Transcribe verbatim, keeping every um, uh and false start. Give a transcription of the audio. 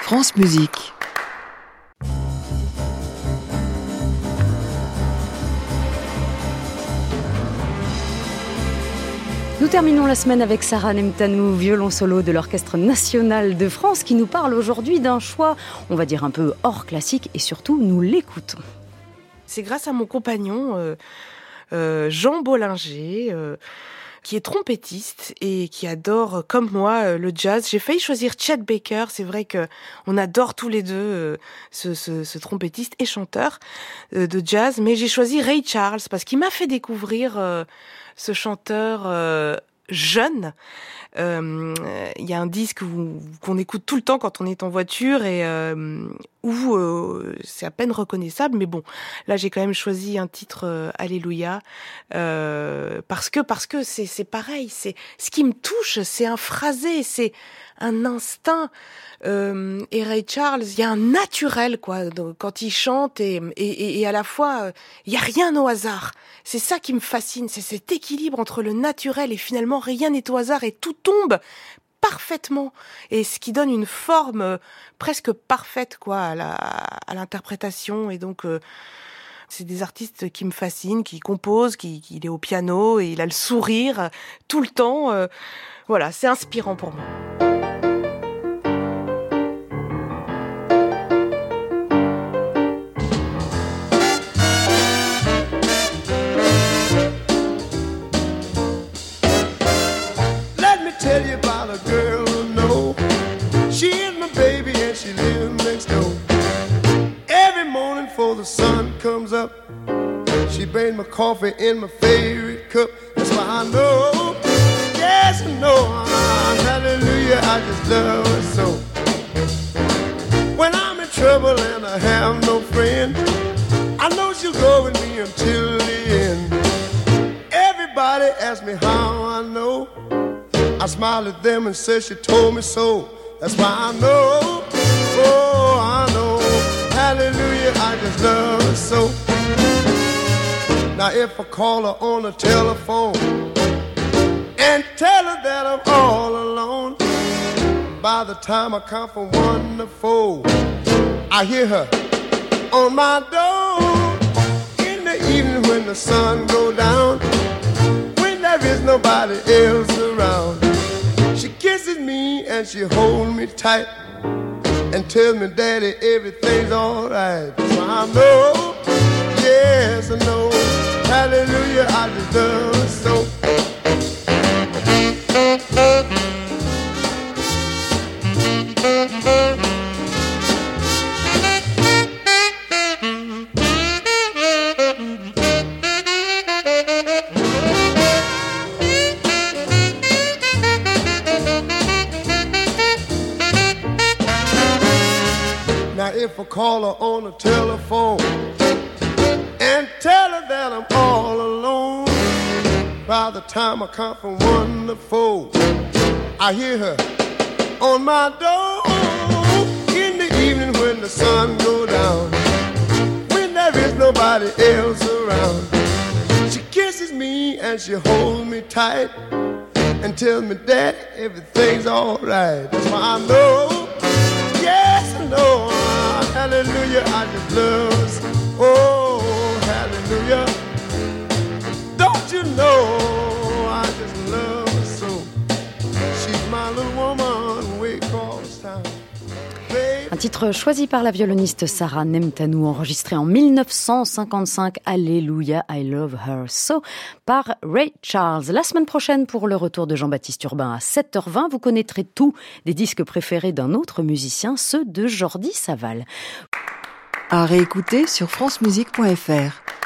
France Musique. Nous terminons la semaine avec Sarah Nemtanou, violon solo de l'Orchestre National de France, qui nous parle aujourd'hui d'un choix, on va dire un peu hors classique, et surtout nous l'écoutons. C'est grâce à mon compagnon euh, euh, Jean Bollinger, euh, qui est trompettiste et qui adore, comme moi, euh, le jazz. J'ai failli choisir Chet Baker. C'est vrai que on adore tous les deux euh, ce, ce, ce trompettiste et chanteur euh, de jazz, mais j'ai choisi Ray Charles parce qu'il m'a fait découvrir euh, ce chanteur euh, jeune. Il euh, y a un disque où, qu'on écoute tout le temps quand on est en voiture et euh, où euh, c'est à peine reconnaissable, mais bon, là j'ai quand même choisi un titre euh, Alléluia euh, parce que parce que c'est c'est pareil, c'est ce qui me touche, c'est un phrasé, c'est un instinct. Euh, et Ray Charles, il y a un naturel quoi quand il chante et et, et à la fois il euh, y a rien au hasard. C'est ça qui me fascine, c'est cet équilibre entre le naturel et finalement rien n'est au hasard et tout tombe parfaitement, et ce qui donne une forme euh, presque parfaite quoi à, la, à l'interprétation. Et donc euh, c'est des artistes qui me fascinent, qui composent, qui, qui il est au piano et il a le sourire euh, tout le temps. Euh, voilà, c'est inspirant pour moi. Tell you about a girl I know. She is my baby and she lives next door. Every morning before the sun comes up, she brings my coffee in my favorite cup. That's why I know, yes I know, hallelujah, I just love her so. When I'm in trouble and I have no friend, I know she'll go with me until the end. Everybody asks me how I know. I smile at them and say she told me so. That's why I know, oh I know, hallelujah, I just love her so. Now if I call her on the telephone and tell her that I'm all alone, by the time I count from one to four, I hear her on my door. In the evening when the sun goes down, when there is nobody else around, she kisses me and she holds me tight and tells me, Daddy, everything's alright. So I know, yes I know, hallelujah, I just love her so. If I call her on the telephone and tell her that I'm all alone, by the time I count from one to four, I hear her on my door. In the evening when the sun goes down, when there is nobody else around, she kisses me and she holds me tight and tells me that everything's alright. That's why I know, yes I know, hallelujah, I just love her. Oh, hallelujah. Don't you know, I just love her so. She's my little woman way across town. Un titre choisi par la violoniste Sarah Nemtanou, enregistré en dix-neuf cent cinquante-cinq, Alléluia, I Love Her So, par Ray Charles. La semaine prochaine, pour le retour de Jean-Baptiste Urbain à sept heures vingt, vous connaîtrez tous des disques préférés d'un autre musicien, ceux de Jordi Savall. À réécouter sur francemusique point f r.